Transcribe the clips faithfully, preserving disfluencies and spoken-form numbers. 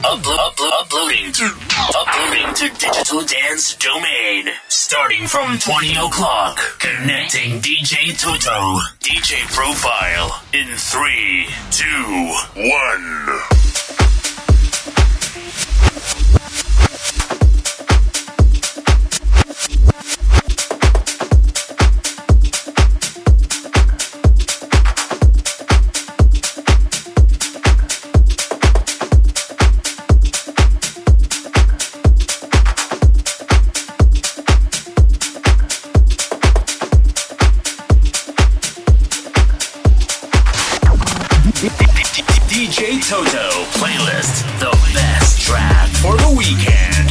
Uplo- uplo- uploading to uploading to Digital Dance Domain. Starting from twenty o'clock. Connecting D J Toto. D J Profile in three, two, one. D J Toto playlist, the best track for the weekend.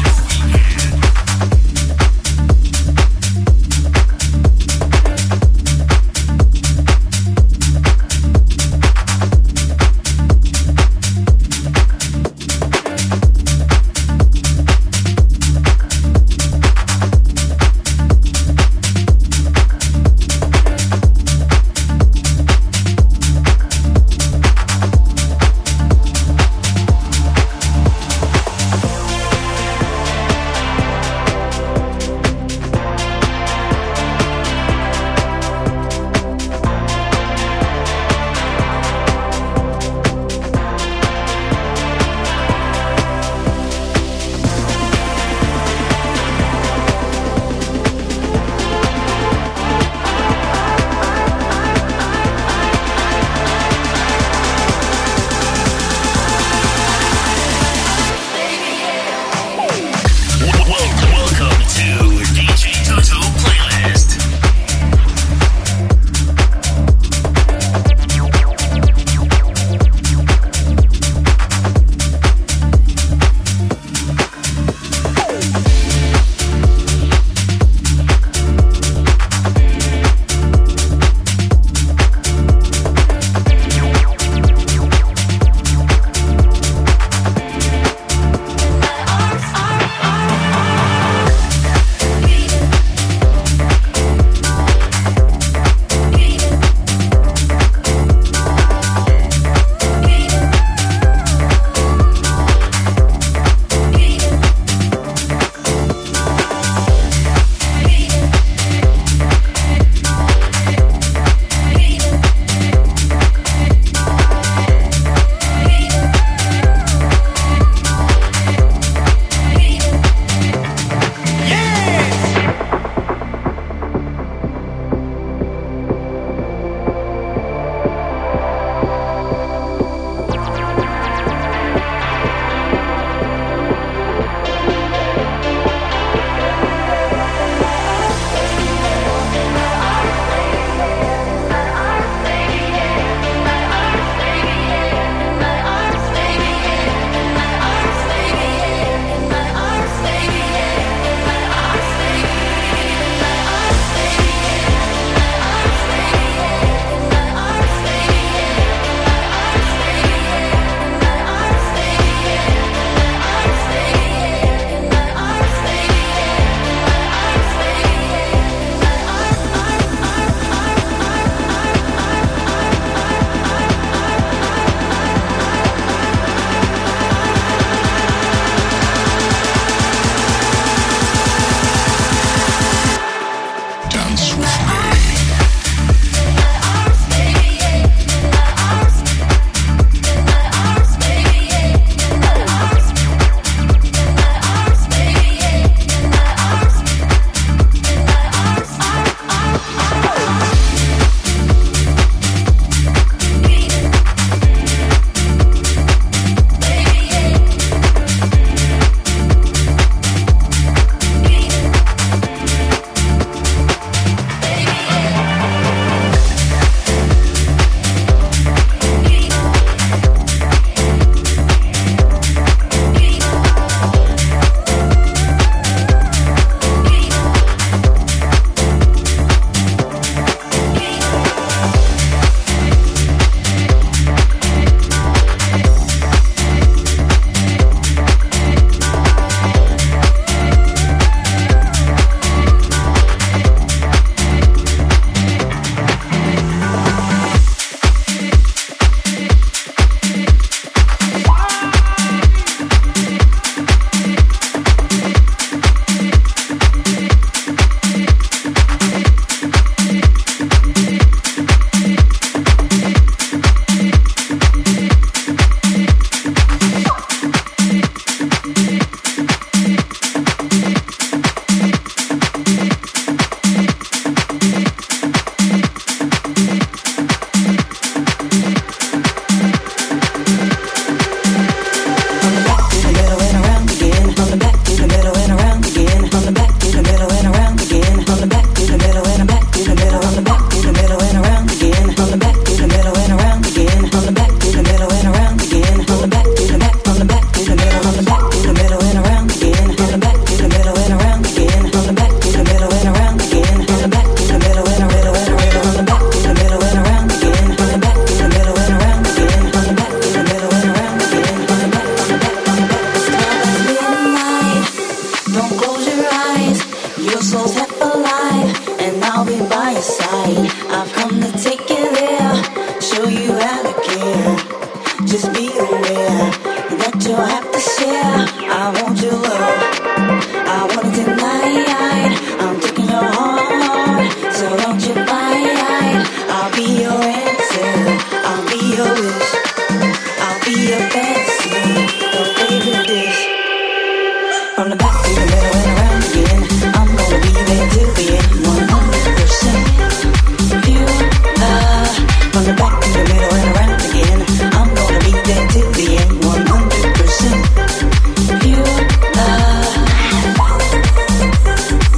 From the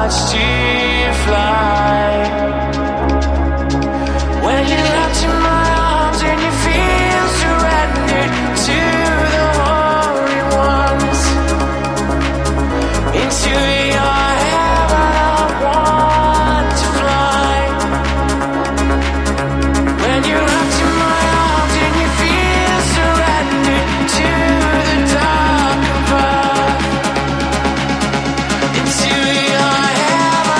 watched you fly. When you left in my arms and you feel surrendered to the holy ones, into your heaven I want to fly. When you left in my arms and you feel surrendered to the dark above, into your heaven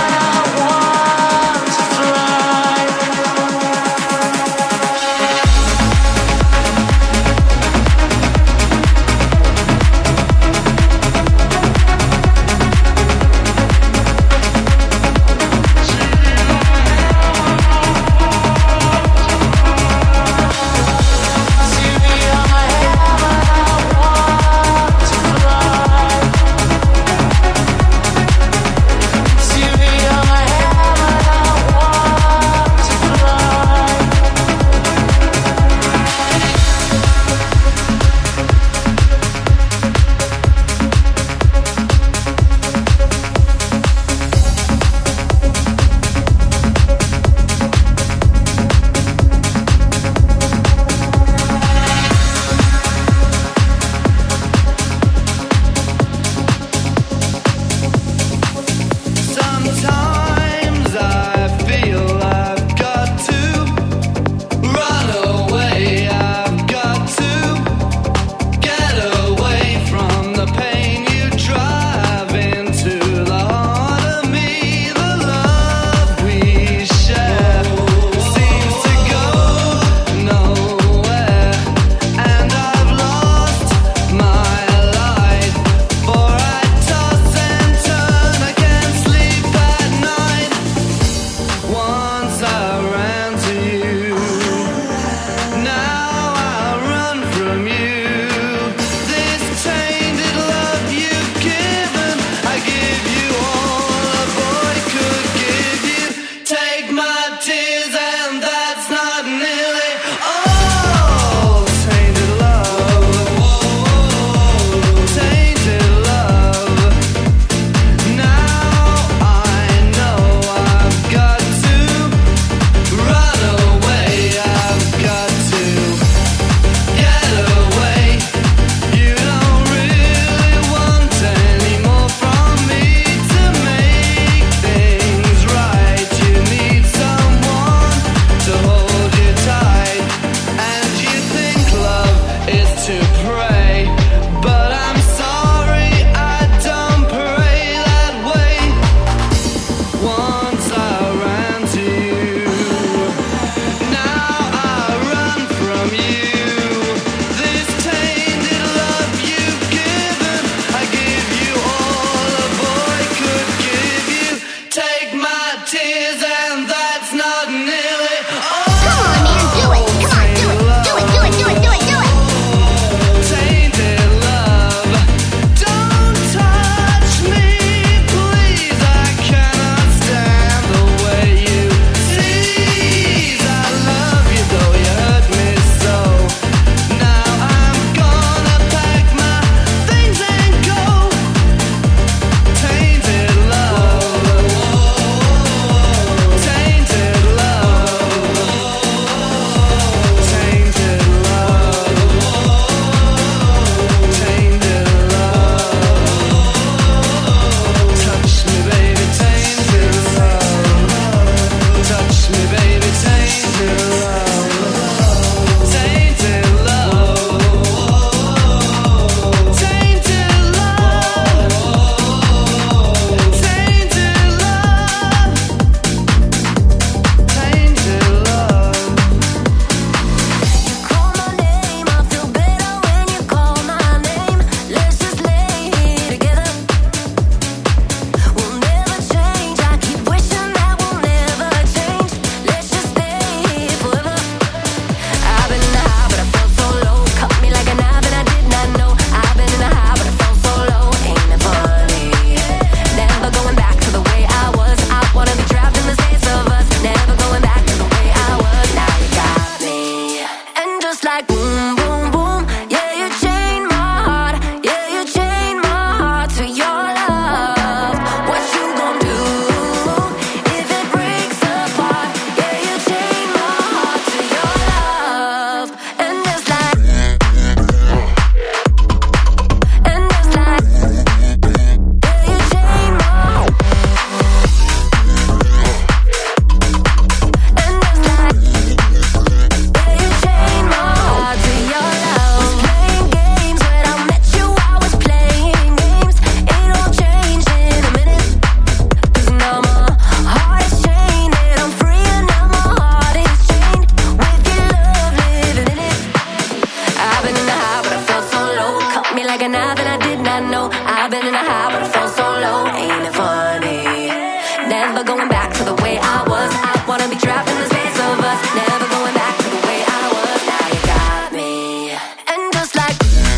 when I did not know. I've been in a high, but I felt so low. Ain't it funny? Never going back to the way I was. I wanna be trapped in the space of us. Never going back to the way I was. Now you got me. And just like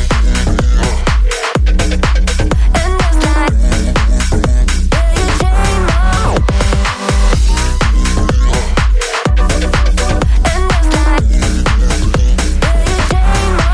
And just like yeah, you changed my And just like yeah, you changed my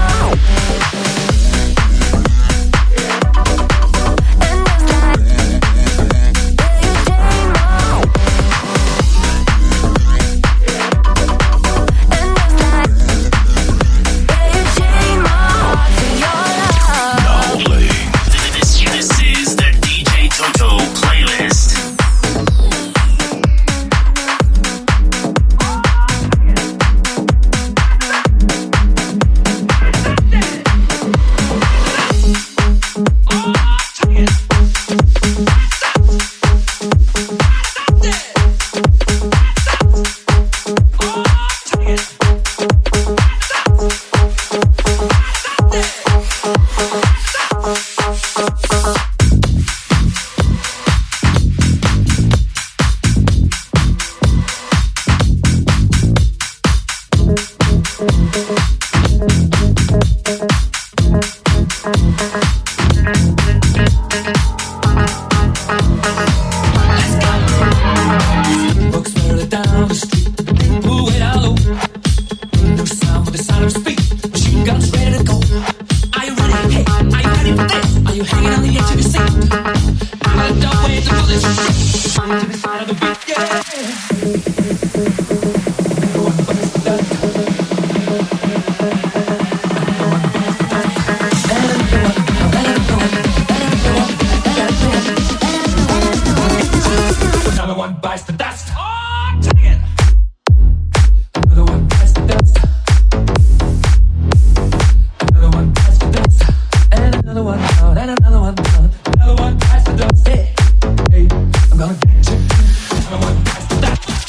Another one bites the dust. Hey, I'm gonna get you. Another one bites the dust.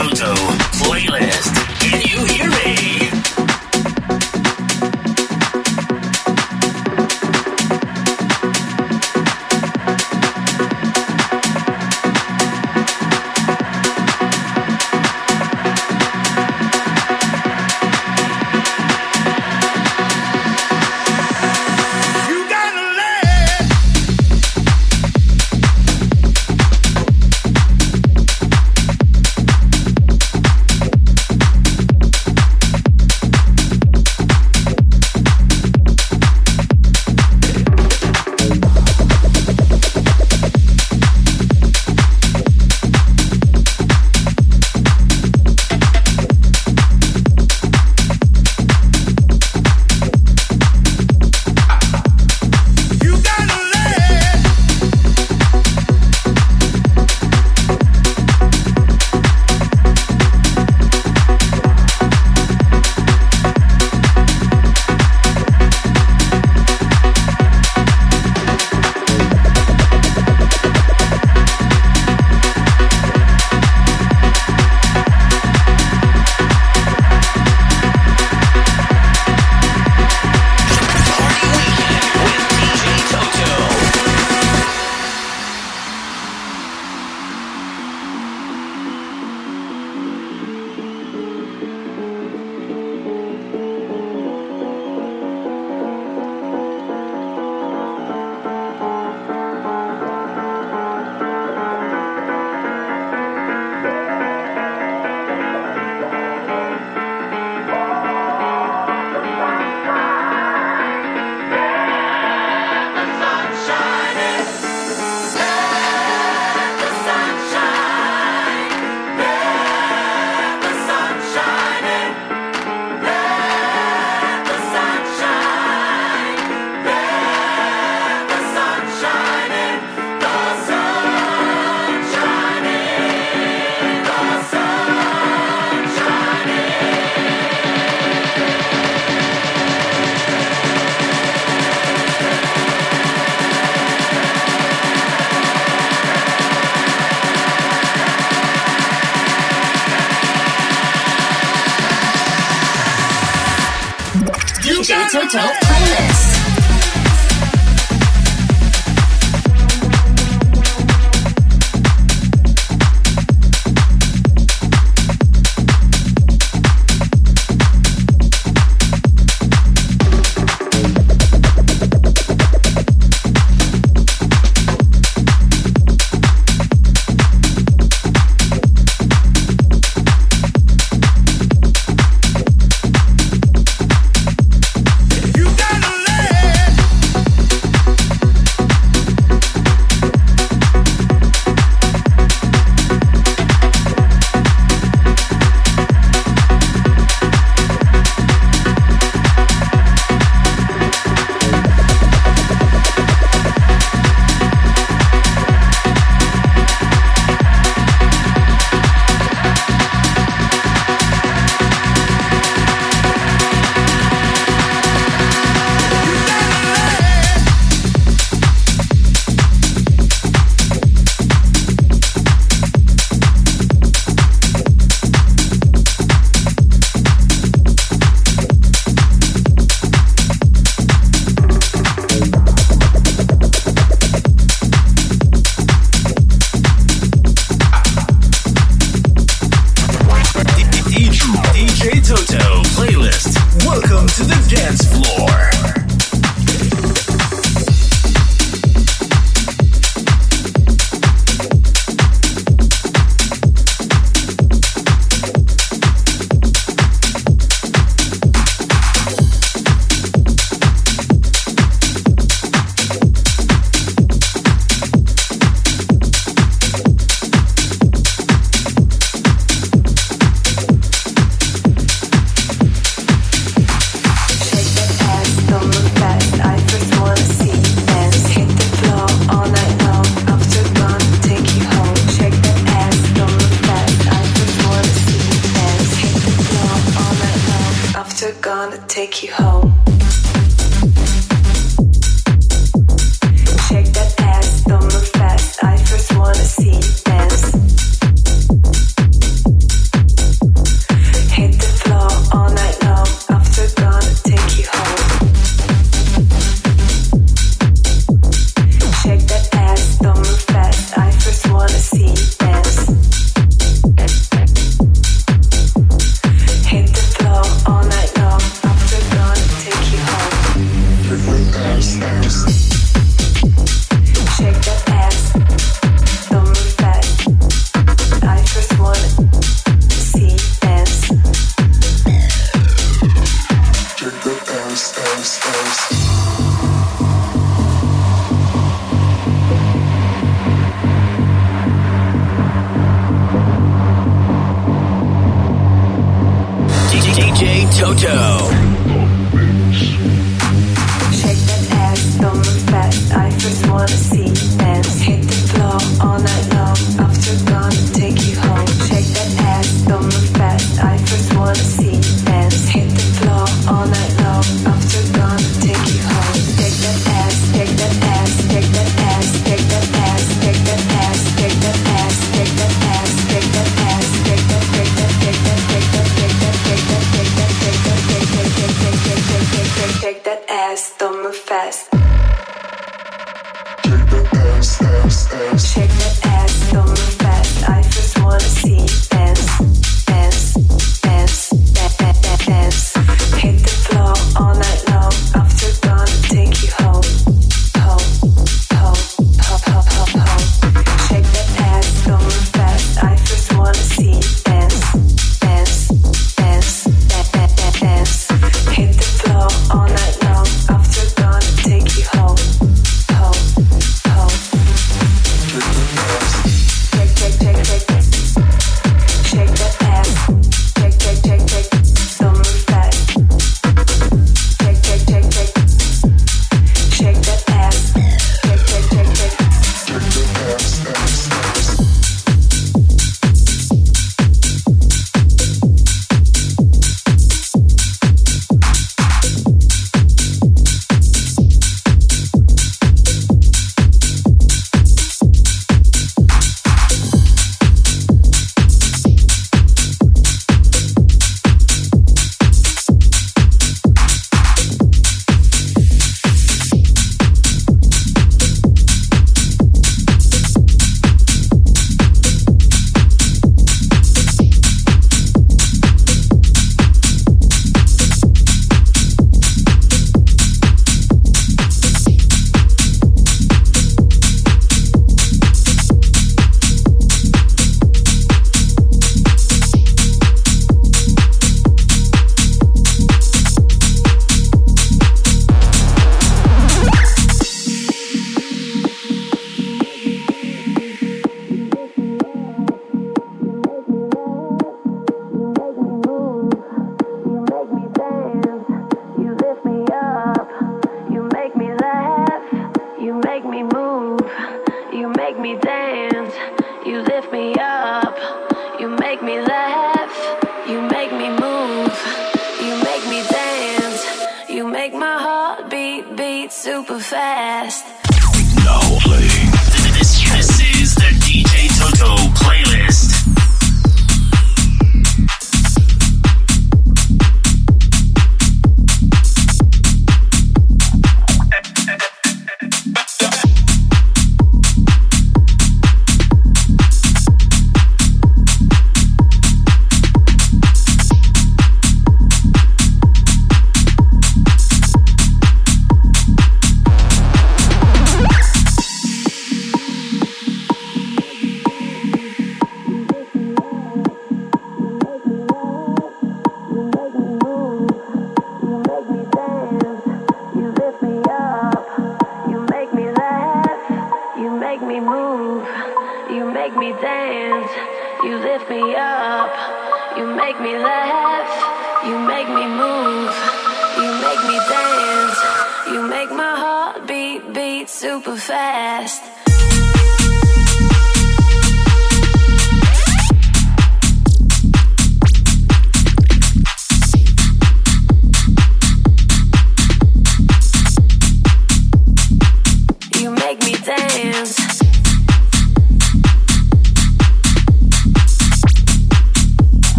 Toto playlist. Can you hear me? D J Toto playlist. Take you home. Shake that ass, don't move fast. I first wanna see you dance. J Toto. Shake that ass, don't move fast. I first wanna see you dance. Hit the floor all night long. After gonna take you home. Shake that ass, don't move fast. I first wanna see you dance. Hit the floor all night long. After gonna take you home. Shake that ass, shake that ass, shake that ass, shake that ass, shake that ass, shake that ass, shake that ass, shake that ass, shake that, shake that, shake that, shake that, shake that, shake that, shake that, shake that, shake that, shake that, shake that, shake that, shake that, shake that ass, don't move fast. Shake that ass, ass, ass. Shake that ass, don't move fast. I just wanna see you dance, dance, dance, dance, dance. Hit the floor all night long. After gonna take you home, home, home, home, home, home, home. Shake that ass, don't move fast. I just wanna see you dance, dance, dance, dance, dance, dance. Hit the floor all night long. After gonna take you home, home, home. Shake, shake, shake, shake, shake that ass. Shake, shake, shake, shake, don't move fast. Shake, shake, shake, shake, shake that ass. Shake, shake, shake, shake, shake that ass, ass, ass.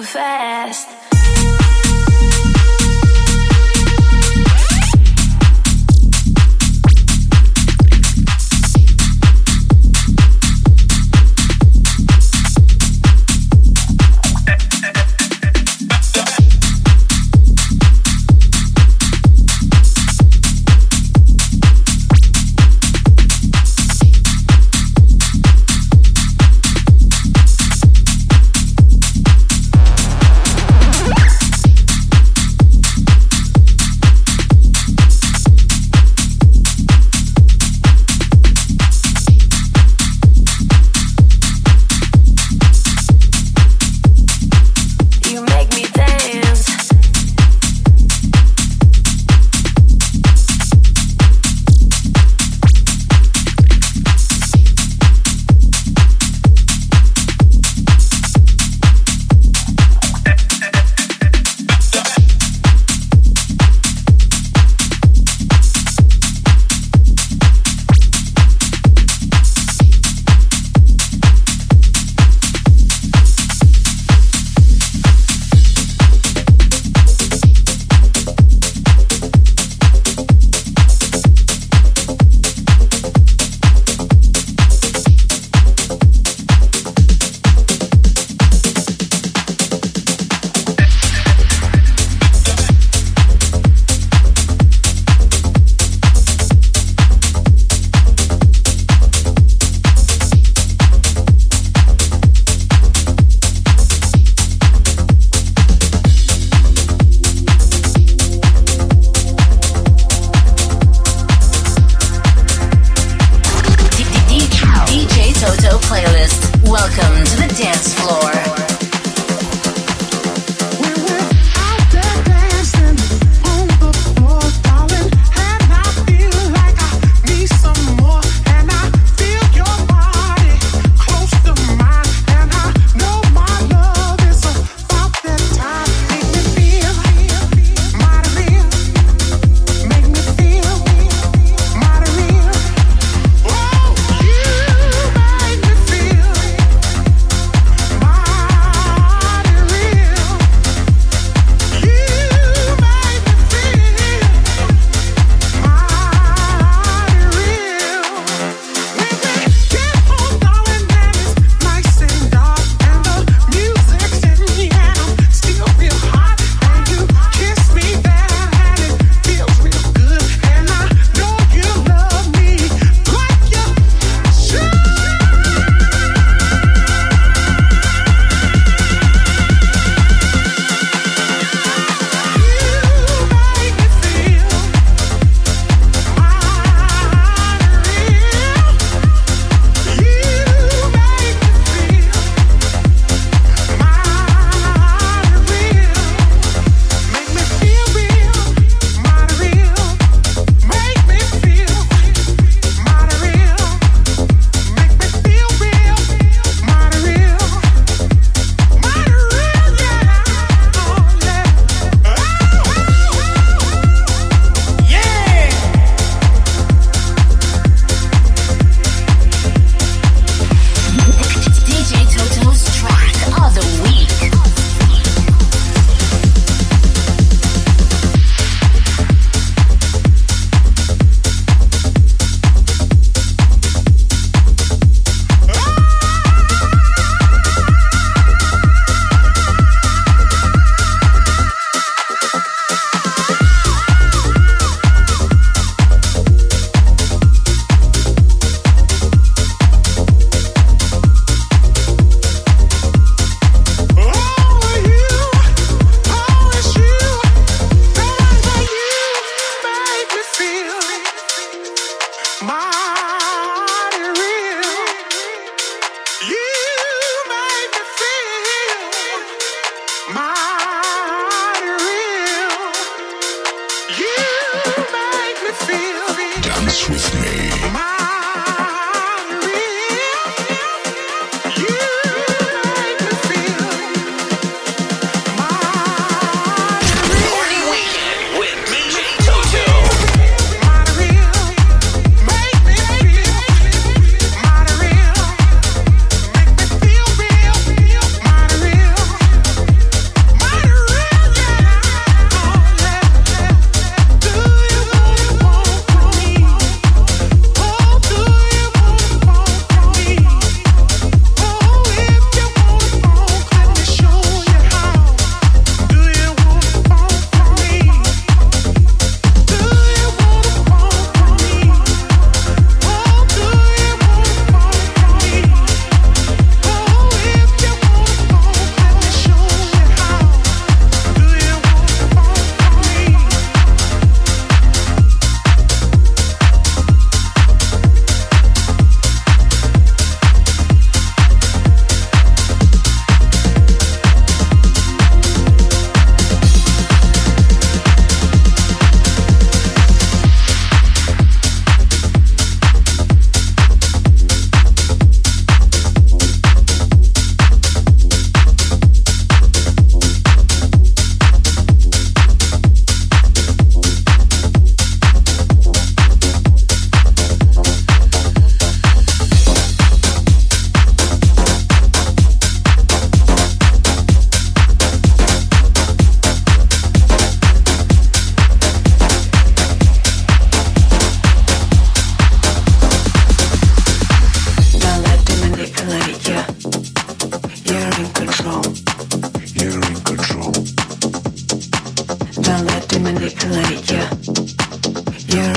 fast.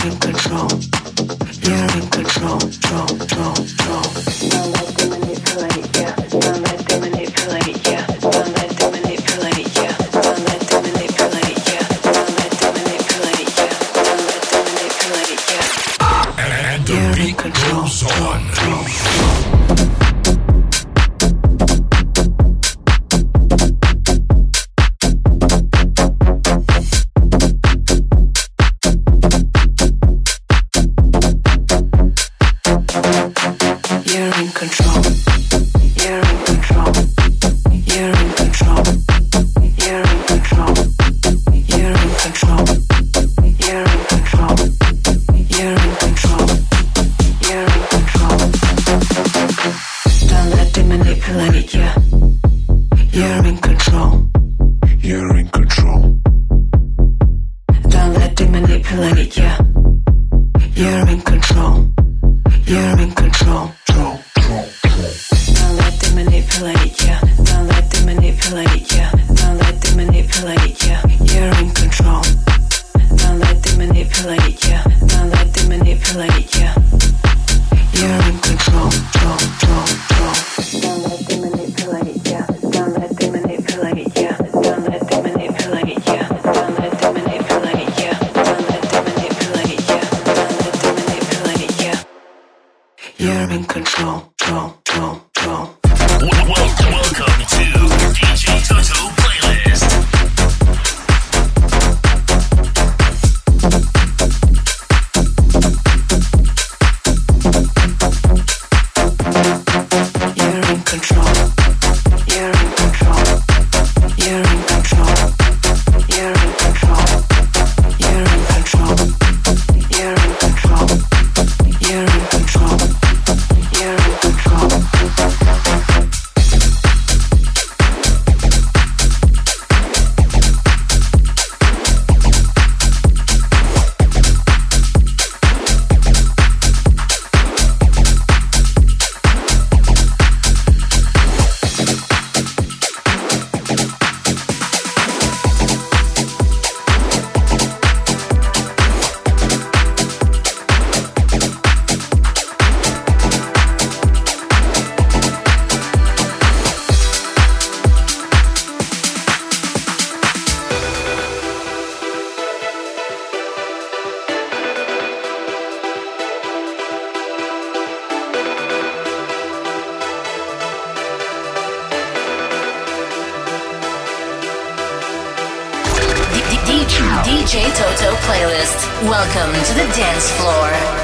D J Toto playlist. Welcome to the dance floor.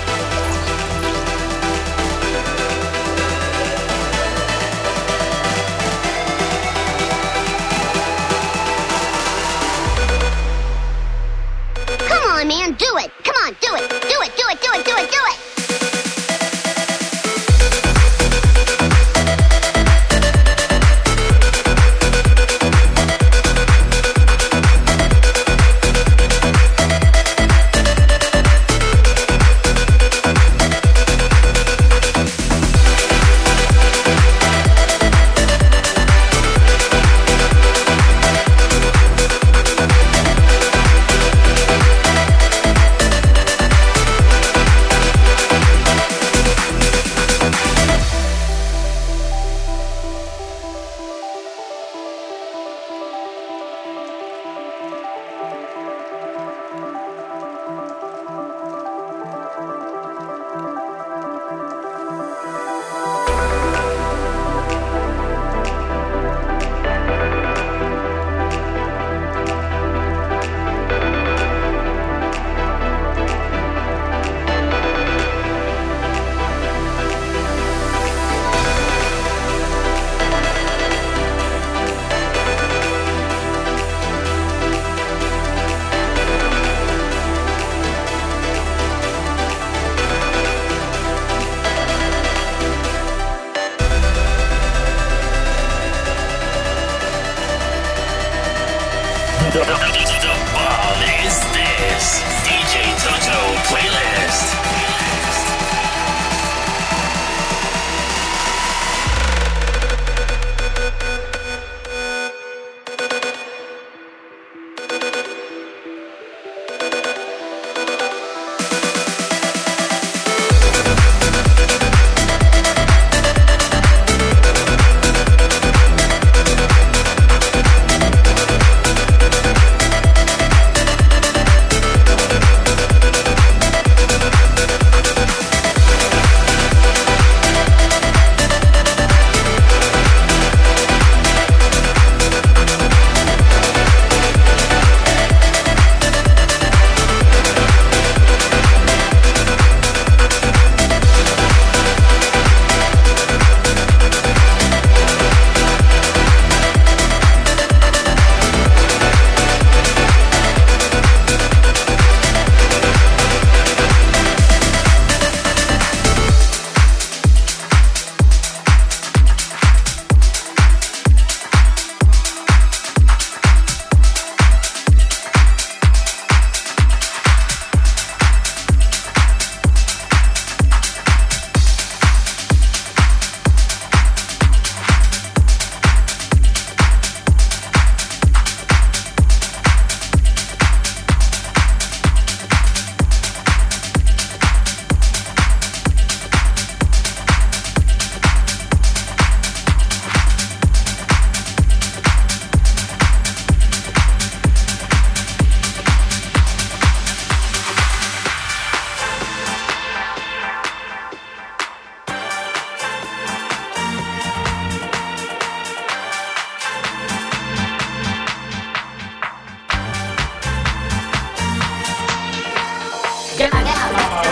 Man, do it. Come on, do it. Do it, do it, do it, do it, do it.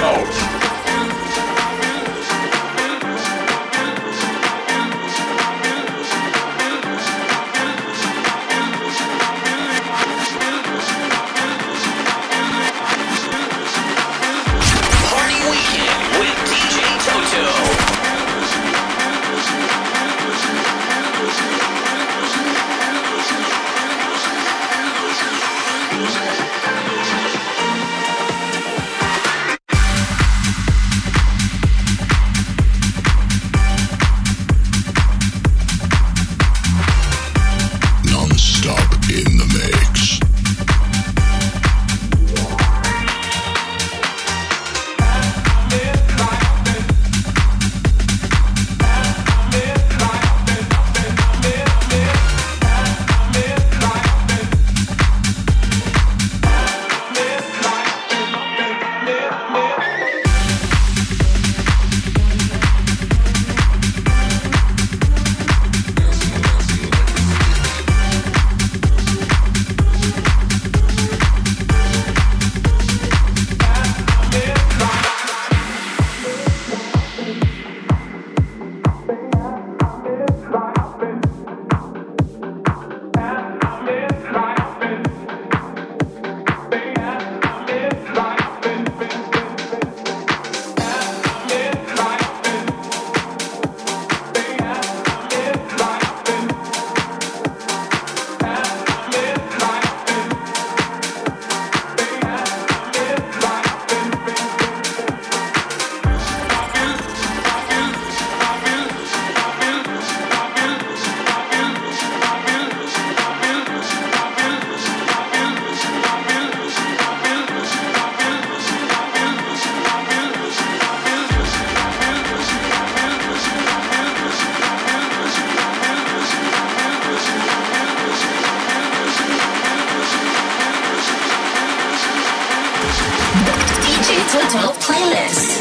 Toto playlist.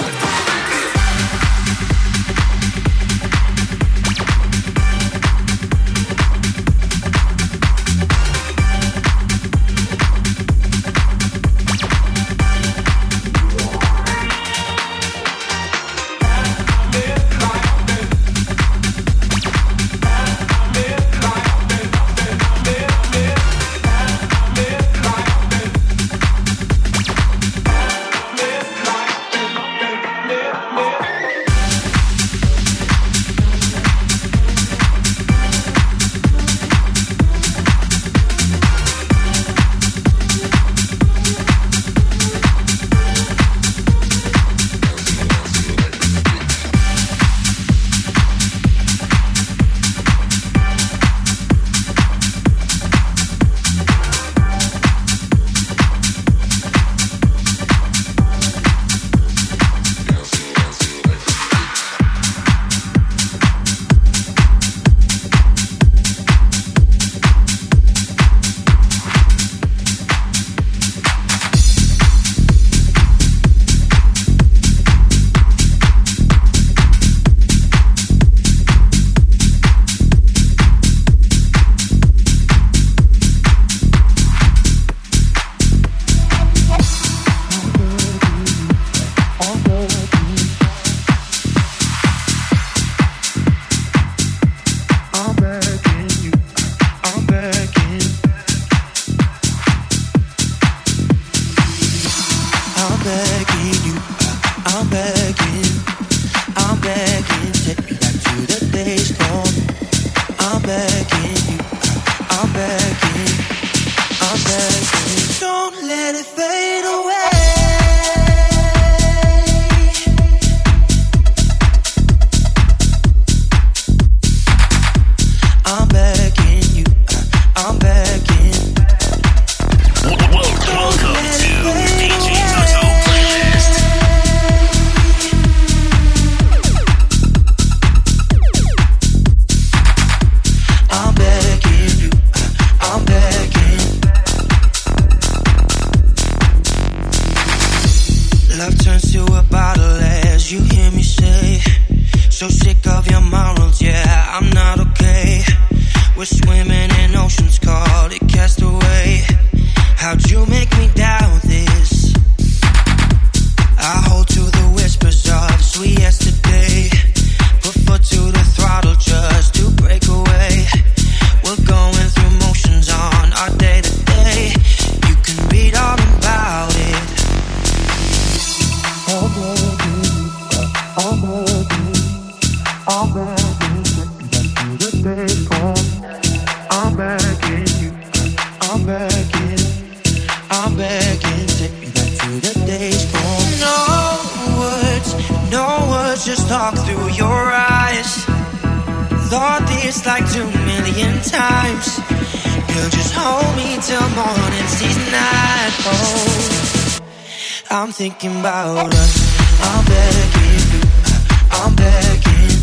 How'd you make me doubt this? I hold to like two million times. You just hold me till morning sees night. Oh, I'm thinking about us. I'm begging you, I'm begging.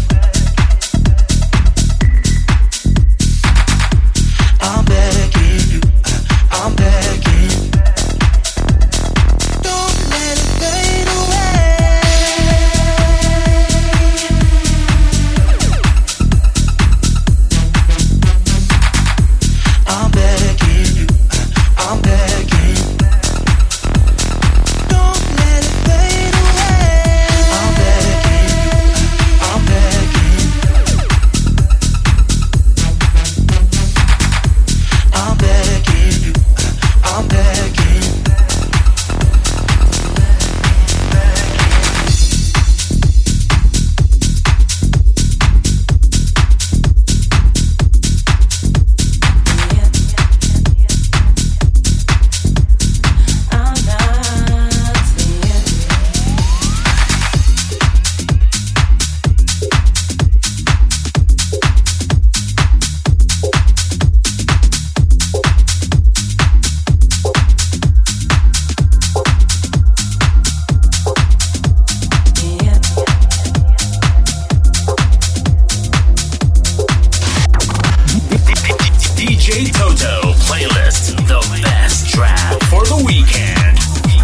I'm begging you, I'm begging. Don't let it fade away. I'm begging you, I'm begging. Don't let it fade away. I'm begging you, I'm begging. I'm begging you, I'm begging. D J Toto playlist, the best track for the weekend.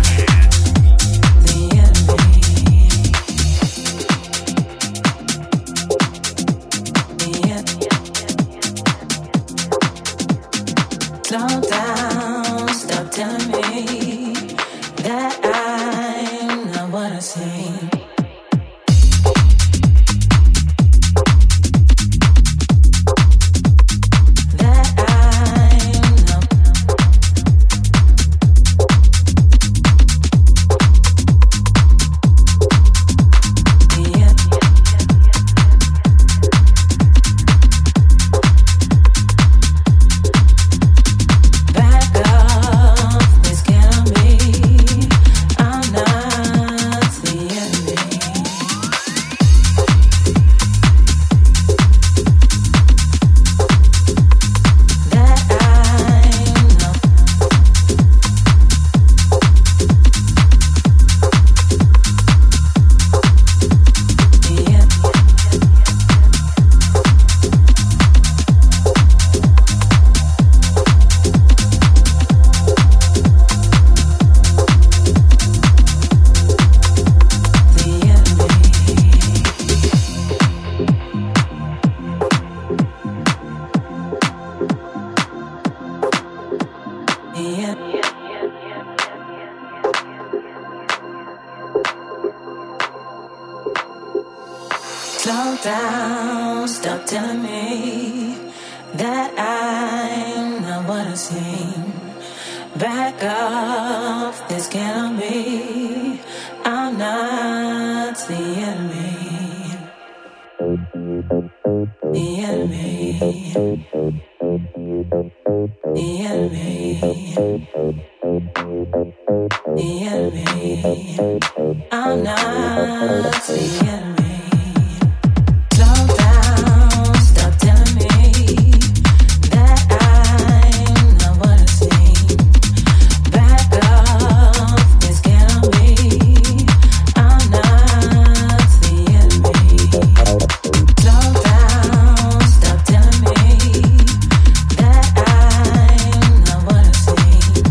Slow down, stop telling me that I'm not what I seem. Slow down, stop telling me that I'm not what I seem. Back off, this cannot be. I'm not the enemy. The enemy. The enemy. The enemy. I'm not the enemy. Slow down, stop telling me that I'm not what I seem. Back off, this cannot be. I'm not the enemy. Slow down, stop telling me that I'm not what I seem.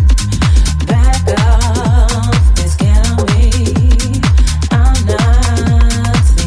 Back off, this cannot be. I'm not the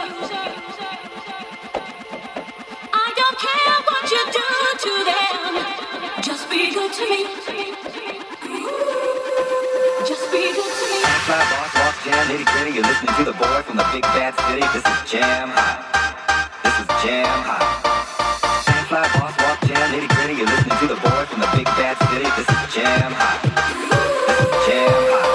I don't care what you do to them. Just be good to me. Just be good to me. Fly, boss, walk, jam, nitty gritty. You're listening to the boy from the big bad city. This is Jam Hot. This is Jam Hot. Fly, boss, walk, jam, nitty gritty. You're listening to the boy from the big bad city. This is Jam Hot. This is Jam Hot.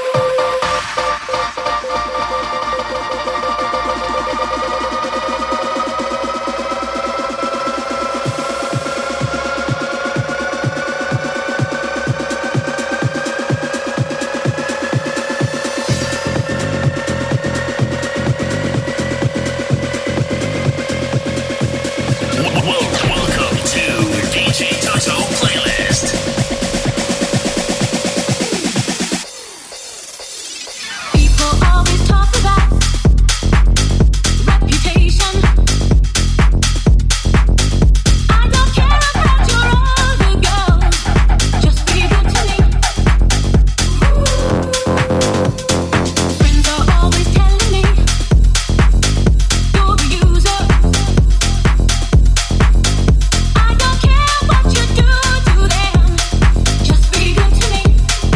Welcome to D J Toto Playlist. People always talk about reputation. I don't care about your other girls. Just be good to me. Friends are always telling me you're a user. I don't care what you do to them. Just be good to me.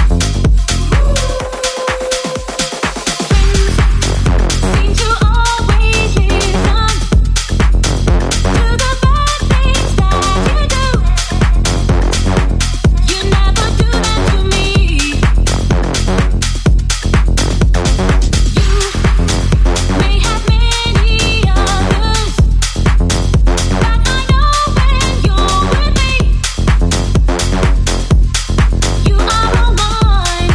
Friends seem to always listen to the bad things that you do. You never do that to me. You may have many others, but I know when you're with me, you are all mine.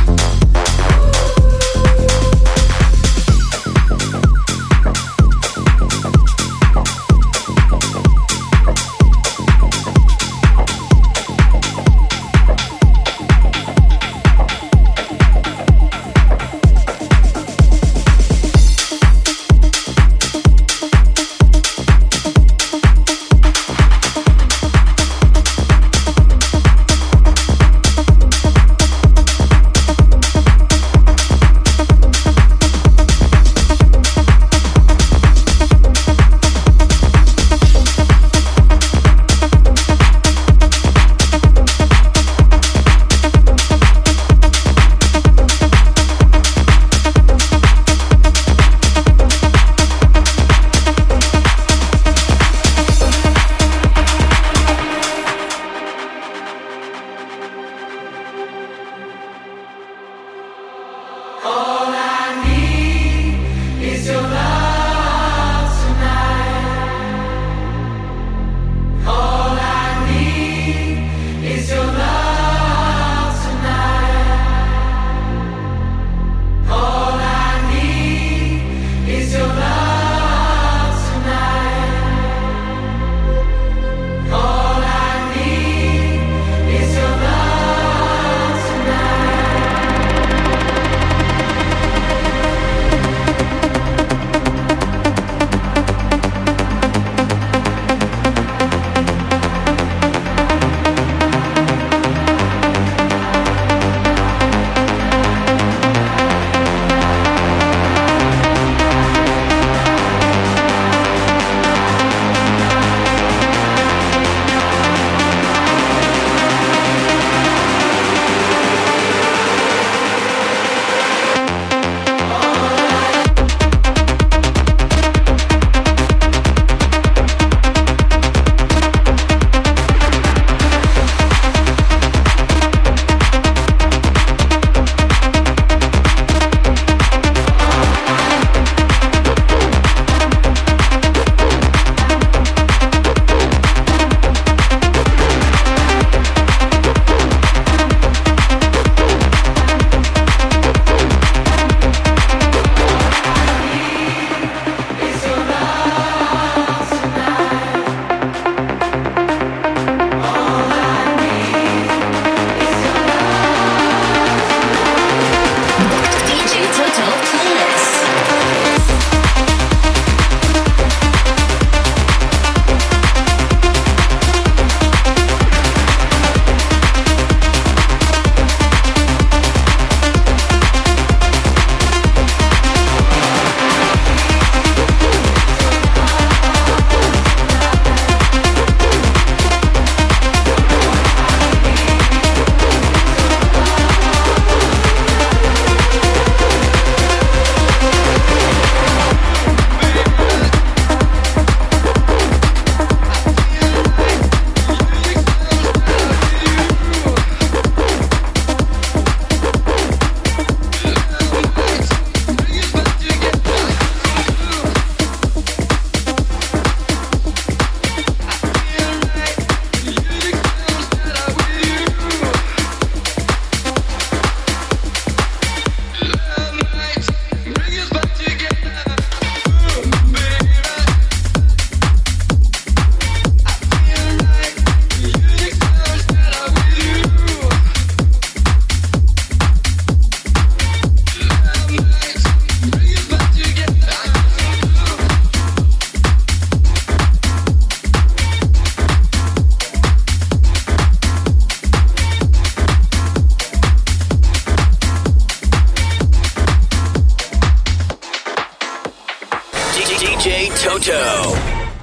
J Toto.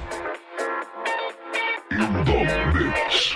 In the mix.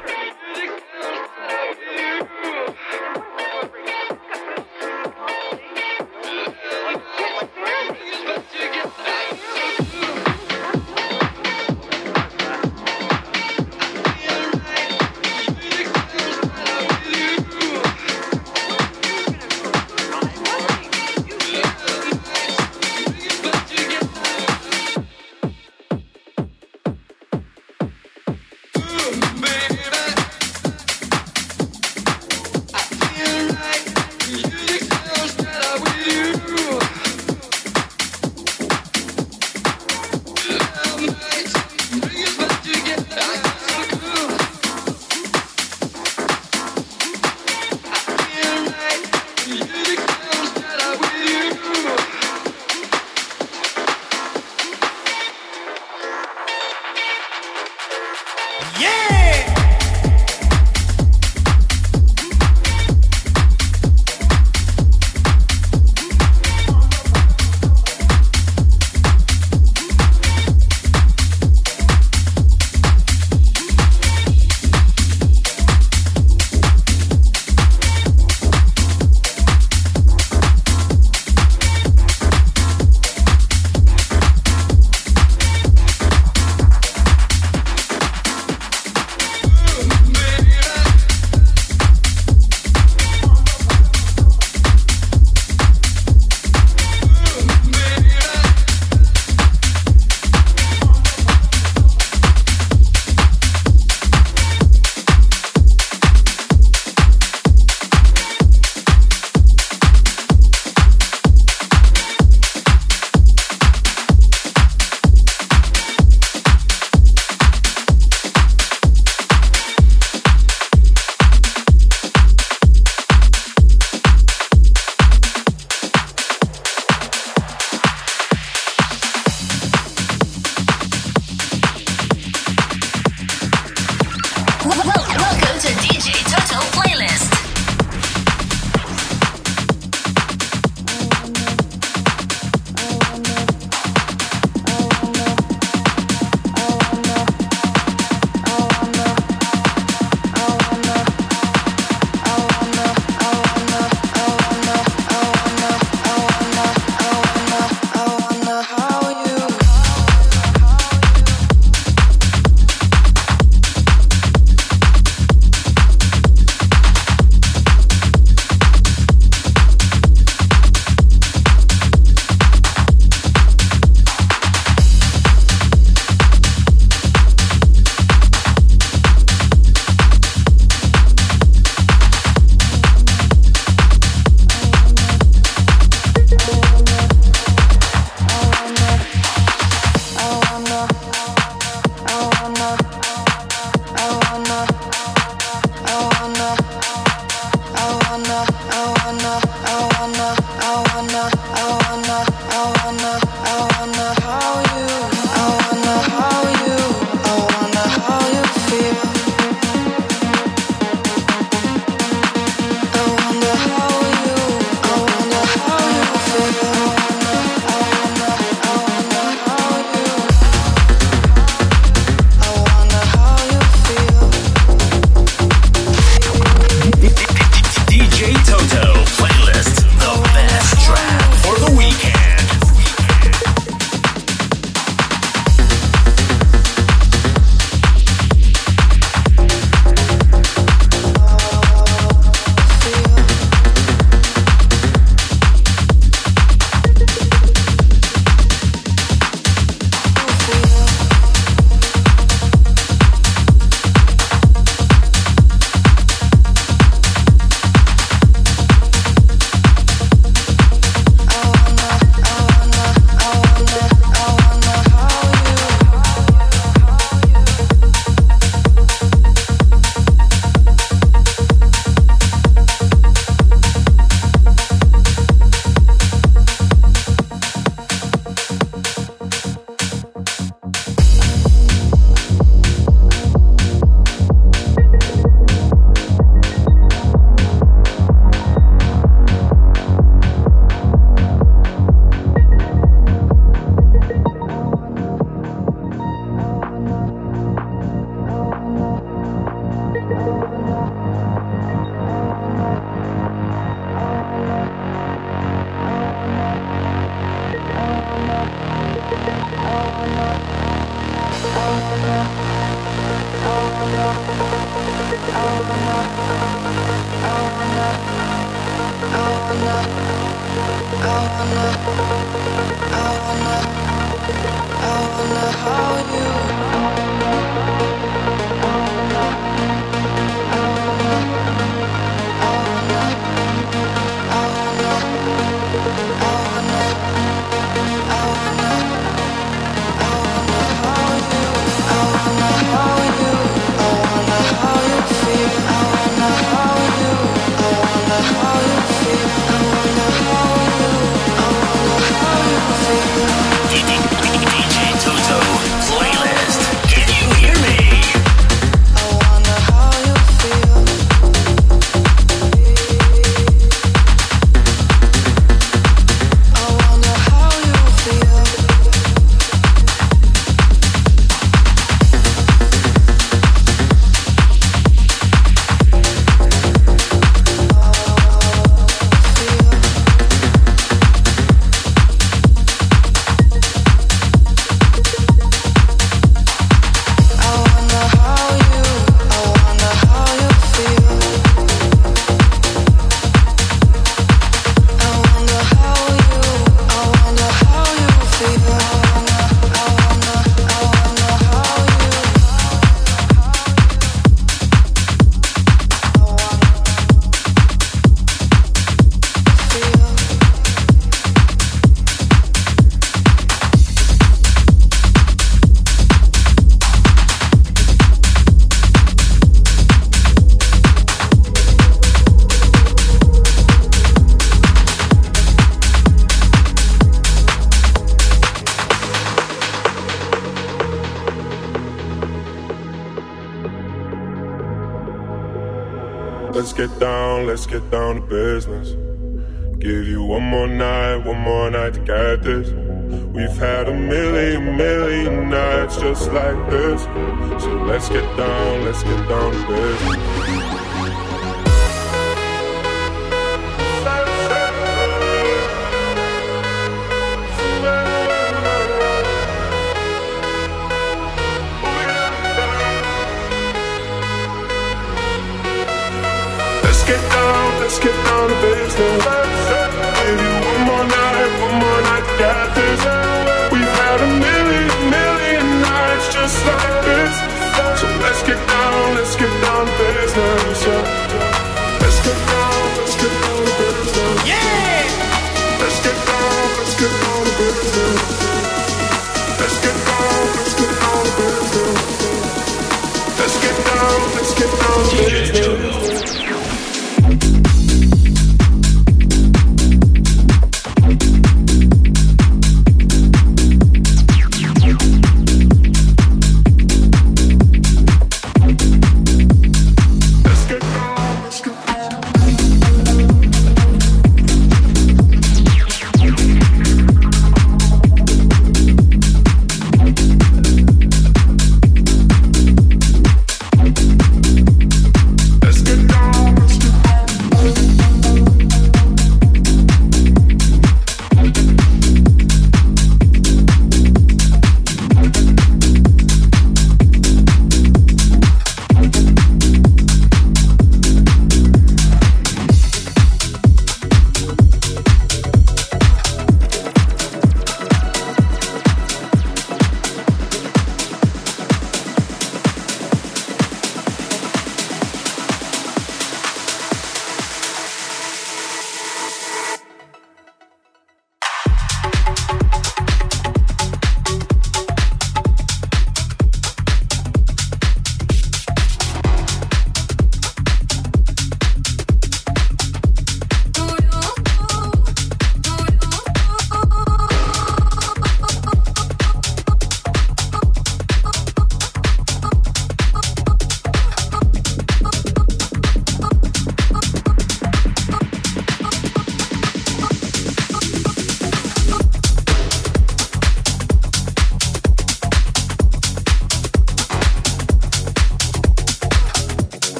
Let's get down, let's get down to business. Give you one more night, one more night to get this. We've had a million, million nights just like this. So let's get down, let's get down to business. Let's get down to business. Give you one more night, one more night to get this. We've had a million, million nights just like this. So let's get down, let's get down to business. Let's get down, let's get down to business. Yeah! Let's get down, let's get down to business. Let's get down, let's get down to business. Let's get down, let's get down to business.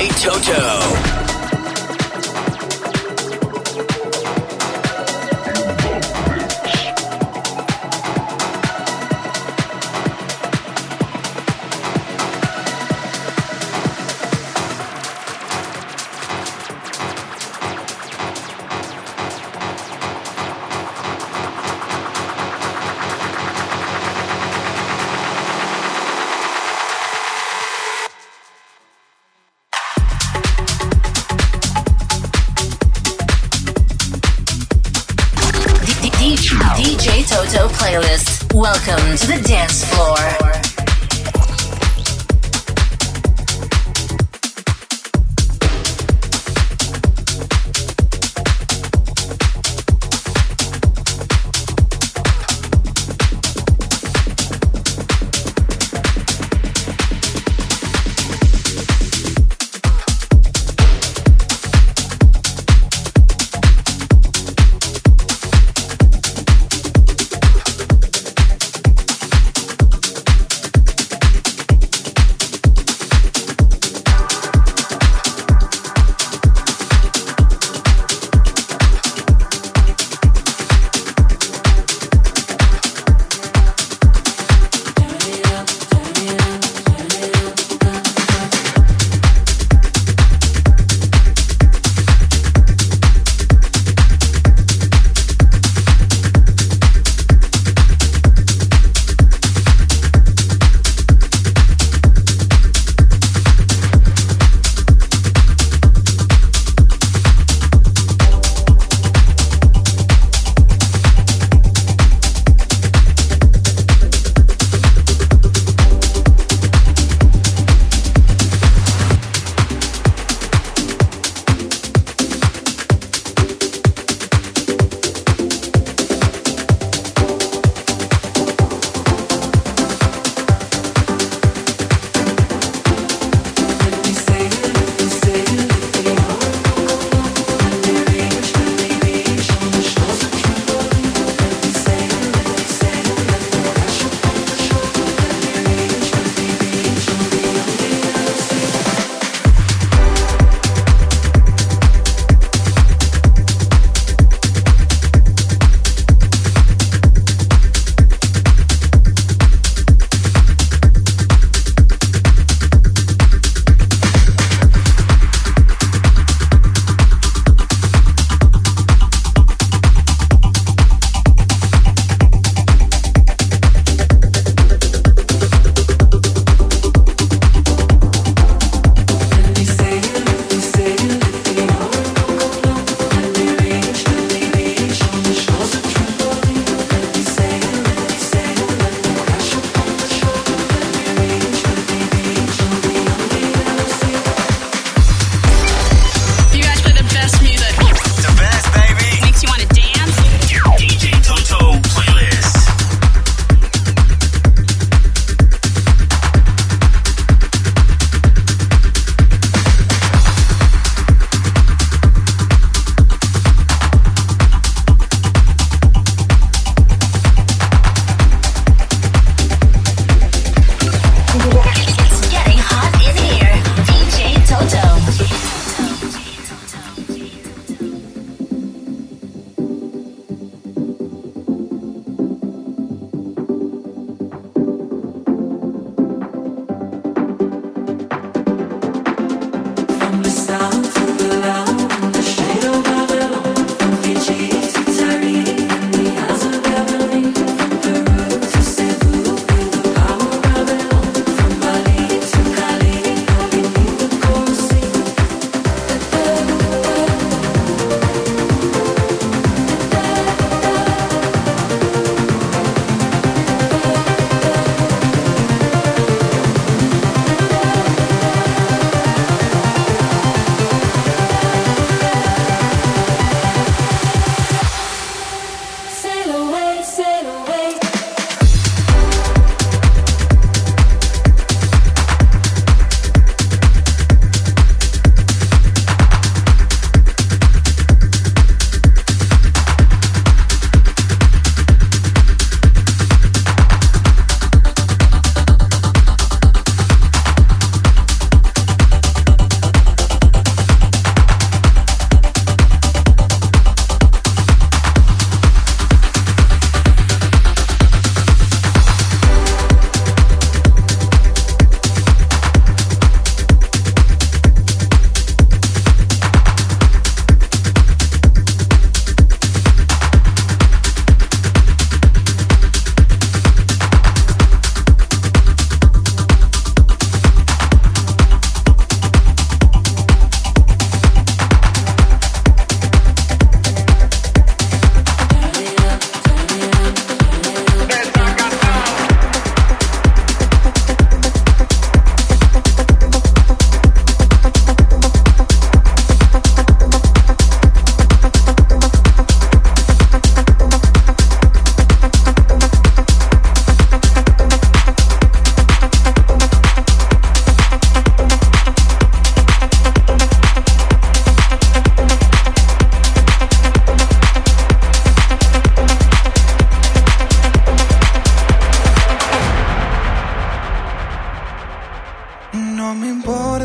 J Toto. D J Toto playlist. Welcome to the dance floor.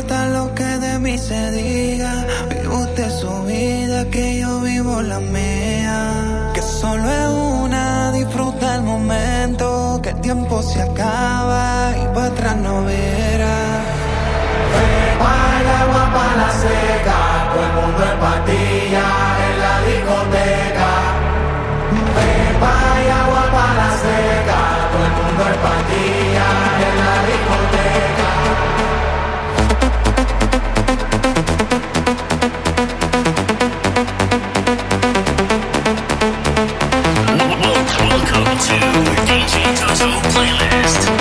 importa lo que de mí se diga. Vive usted su vida, que yo vivo la mía. Que solo es una, disfruta el momento. Que el tiempo se acaba y para atrás no verá. Pepa y agua para la seca, todo el mundo en patilla en la discoteca. Pepa y agua para la seca, todo el mundo en patilla en la discoteca. Welcome to D J Toto Playlist.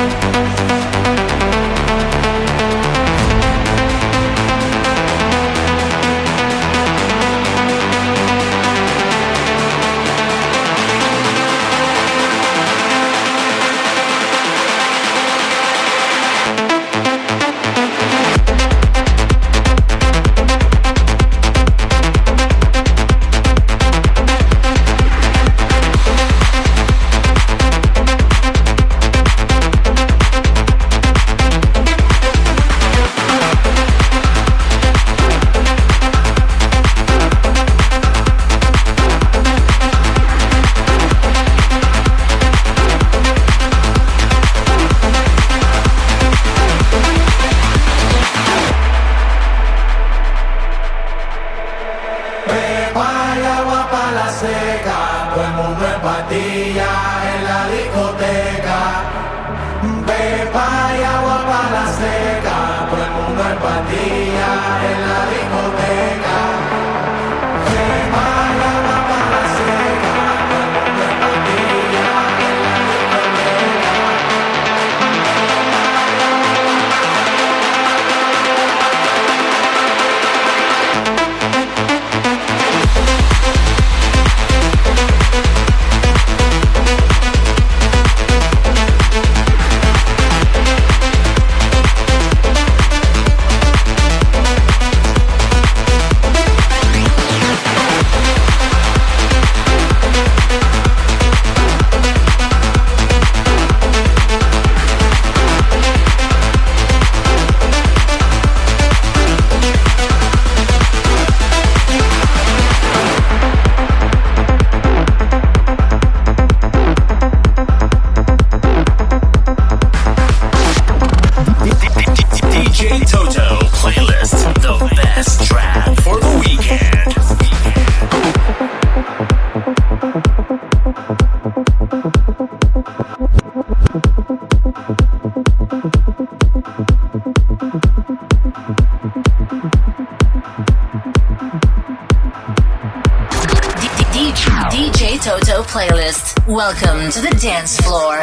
D J Toto Playlist. Welcome to the dance floor.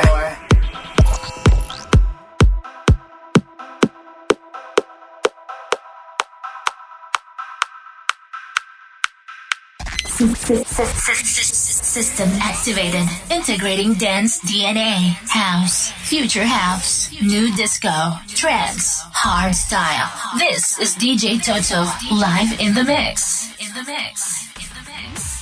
System activated. Integrating dance D N A. House. Future house. New disco. Trance. Hard style. This is D J Toto live in the mix. In the mix. In the mix.